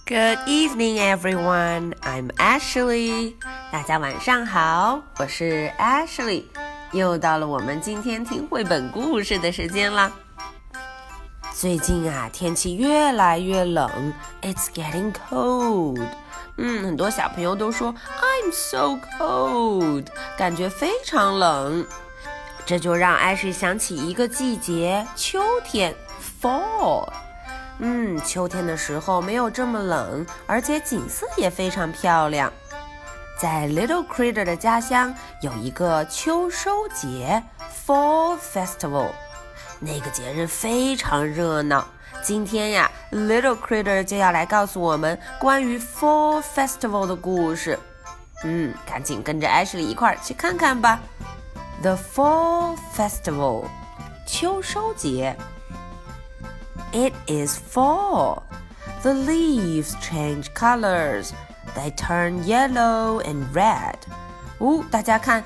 Good evening, everyone. I'm Ashley. 大家晚上好，我是 Ashley。又到了我们今天听绘本故事的时间啦。最近啊，天气越来越冷 ，It's getting cold. 很多小朋友都说 I'm so cold， 感觉非常冷。这就让 Ashley 想起一个季节，秋天 ，Fall。秋天的时候没有这么冷，而且景色也非常漂亮。在 Little Critter 的家乡有一个秋收节 Fall Festival， 那个节日非常热闹。今天呀 Little Critter 就要来告诉我们关于 Fall Festival 的故事。赶紧跟着 Ashley 一块儿去看看吧。The Fall Festival， 秋收节。It is fall. The leaves change colors. They turn yellow and red. 大家看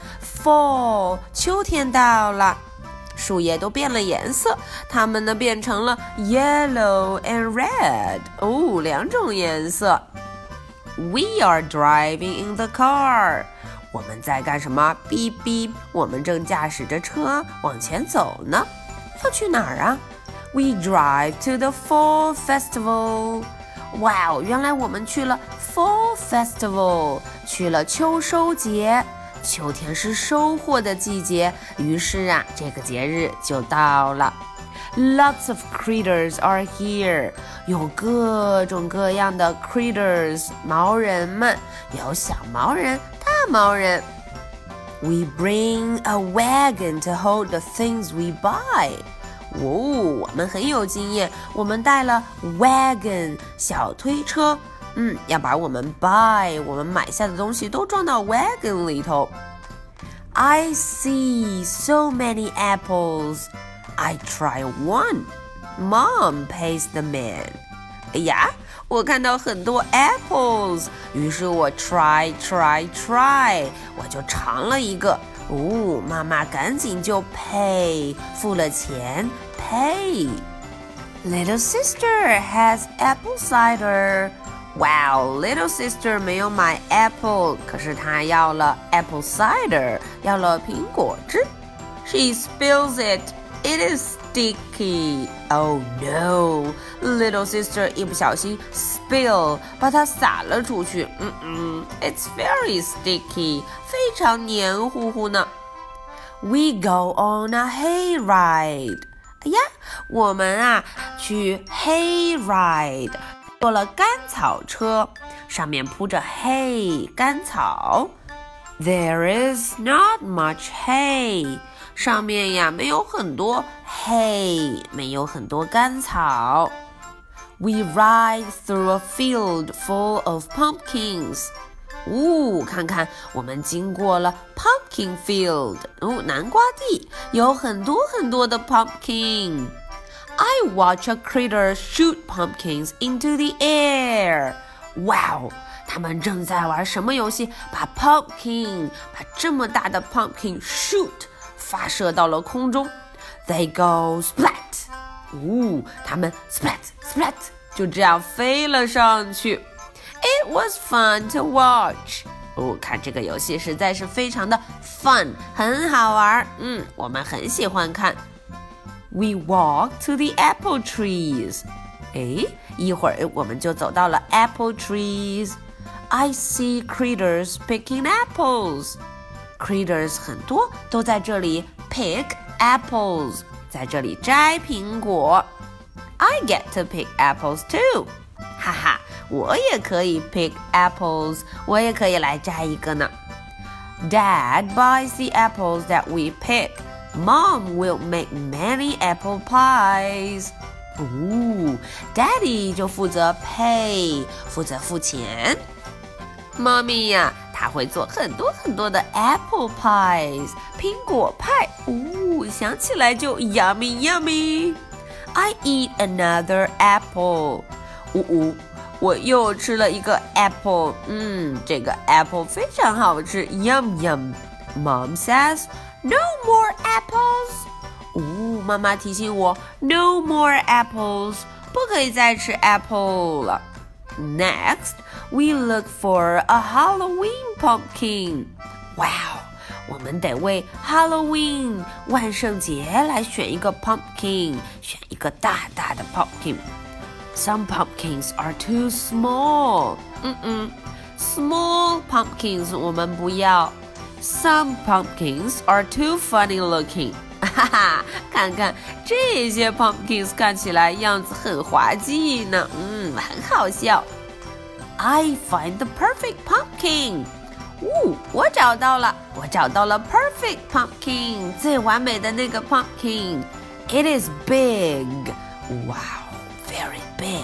fall 秋天到了，树叶都变了颜色，它们呢变成了 yellow and red. 两种颜色。We are driving in the car. 我们在干什么？哔哔，我们正驾驶着车往前走呢。要去哪儿啊？We drive to the Fall Festival. 哇，原来我们去了 Fall Festival， 去了秋收节。秋天是收获的季节，于是啊，这个节日就到了。Lots of critters are here. 有各种各样的 critters， 毛人们，有小毛人、大毛人。We bring a wagon to hold the things we buy.我们很有经验，我们带了 wagon 小推车，要把我们买下的东西都装到 wagon 里头。I see so many apples. I try one. Mom pays the man. 哎呀，我看到很多 apples， 于是我 try， 我就尝了一个。妈妈赶紧就 pay， 付了钱 pay。 Little sister has apple cider. Wow, little sister 没有买 apple， 可是她要了 apple cider， 要了苹果汁。She spills it. It is sticky. Oh no, little sister 一不小心 spill， 把它洒了出去。It's very sticky， 非常黏糊糊呢。We go on a hayride. 哎呀，我们啊去 hayride， 坐了干草车，上面铺着 hay 干草。There is not much hay， 上面呀没有很多 hay， 没有很多干草。We ride through a field full of pumpkins. 看看我们经过了 pumpkin field， 南瓜地，有很多很多的 pumpkin。 I watch a critter shoot pumpkins into the air. Wow， 他们正在玩什么游戏？把这么大的 pumpkin shoot， 发射到了空中。They go splat。他们 splat 就这样飞了上去。It was fun to watch. 看这个游戏实在是非常的 fun， 很好玩。我们很喜欢看。We walk to the apple trees. 一会儿我们就走到了 apple trees. I see critters picking apples. Critters 很多都在这里 pick apples， 在这里摘苹果。I get to pick apples too. 哈哈，我也可以 pick apples， 我也可以来摘一个呢。Dad buys the apples that we pick. Mom will make many apple pies. Daddy 就负责 pay， 负责付钱。Mommy 呀，她会做很多很多的 apple pies， 苹果派。想起来就 yummy yummy。I eat another apple. 我又吃了一个 apple， 这个 apple 非常好吃 ，yum yum。Mom says, "No more apples." 妈妈提醒我 ，No more apples， 不可以再吃 apple 了。 Next, we look for a Halloween pumpkin. Wow, 我们得为 Halloween 万圣节来选一个 pumpkin， 选一个大大的 pumpkin。Some pumpkins are too small. Small pumpkins 我们不要。Some pumpkins are too funny looking. 哈哈，看看这些 pumpkins 看起来样子很滑稽呢，很好笑。I find the perfect pumpkin. 我找到了 perfect pumpkin， 最完美的那个 pumpkin. It is big. Wow, very big.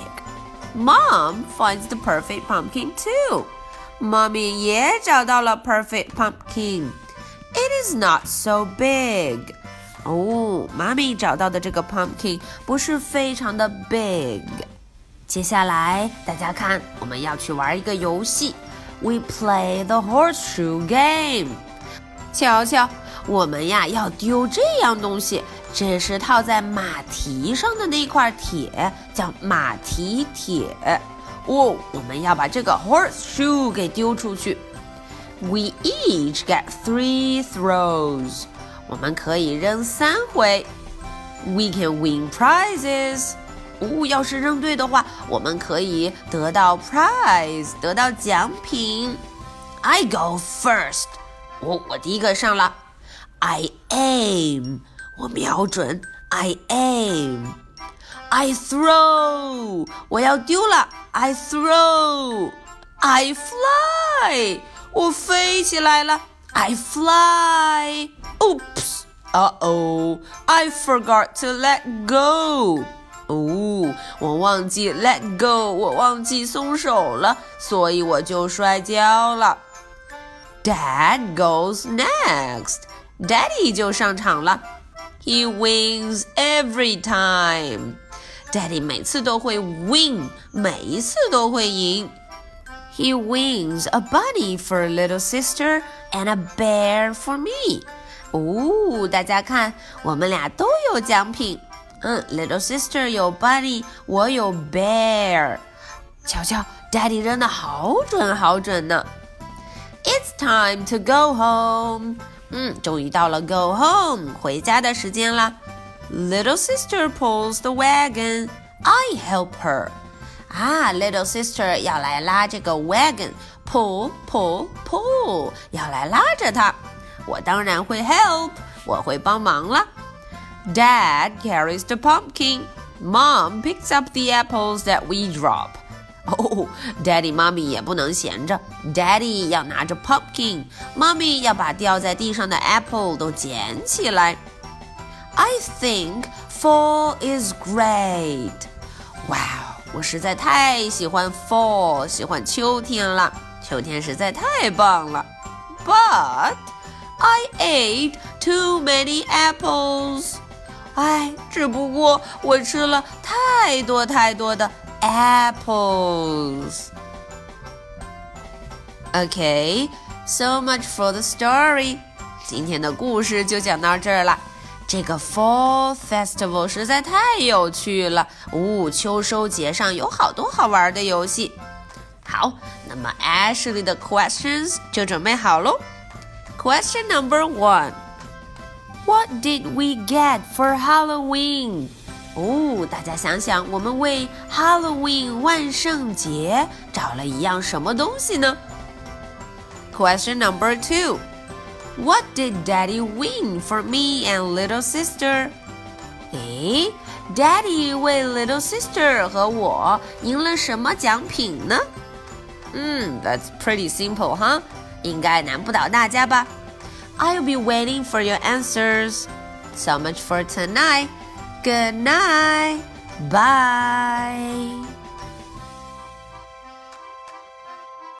Mom finds the perfect pumpkin too. Mommy 也找到了 perfect pumpkin. It is not so big. 妈咪找到的这个 pumpkin 不是非常的 big。接下来大家看，我们要去玩一个游戏。We play the horseshoe game. 瞧瞧，我们呀要丢这样东西，这是套在马蹄上的那块铁，叫马蹄铁。我们要把这个 horseshoe 给丢出去。We each get 3 throws. 我们可以扔3回。We can win prizes. 要是扔对的话，我们可以得到 prize， 得到奖品。I go first. 我第一个上了。I aim. 我瞄准。I aim. I throw. 我要丢了。I throw. I fly. 我飞起来了。I fly. Oops. Uh-oh. I forgot to let go. 我忘记 let go. 我忘记松手了，所以我就摔跤了。Dad goes next. Daddy 就上场了。He wins every time. Daddy 每次都会 win. 每一次都会赢。He wins a bunny for little sister and a bear for me. 大家看，我们俩都有奖品。Little sister 有 bunny， 我有 bear。瞧瞧 ，Daddy 扔得好准好准呢。It's time to go home. 终于到了 go home 回家的时间啦。Little sister pulls the wagon. I help her. Little sister 要来拉这个 wagon. Pull, pull, pull. 要来拉着它。我当然会 help. 我会帮忙了。Dad carries the pumpkin. Mom picks up the apples that we drop. Daddy 妈咪也不能闲着 Daddy 要拿着 pumpkin 妈咪要把掉在地上的 apple 都捡起来 I think fall is great. Wow, 我实在太喜欢 fall 喜欢秋天了秋天实在太棒了 But I ate too many apples. 只不过我吃了太多太多的 apples. Okay, so much for the story. 今天的故事就讲到这儿了。这个 Fall Festival 实在太有趣了。秋收节上有好多好玩的游戏。好，那么 Ashley 的 questions 就准备好咯。Question number 1. What did we get for Halloween? 大家想想，我们为 Halloween 万圣节找了一样什么东西呢？ Question number 2. What did Daddy win for me and little sister? Daddy 为 little sister 和我赢了什么奖品呢？That's pretty simple, huh? 应该难不倒大家吧？ I'll be waiting for your answers. So much for tonight. Good night. Bye.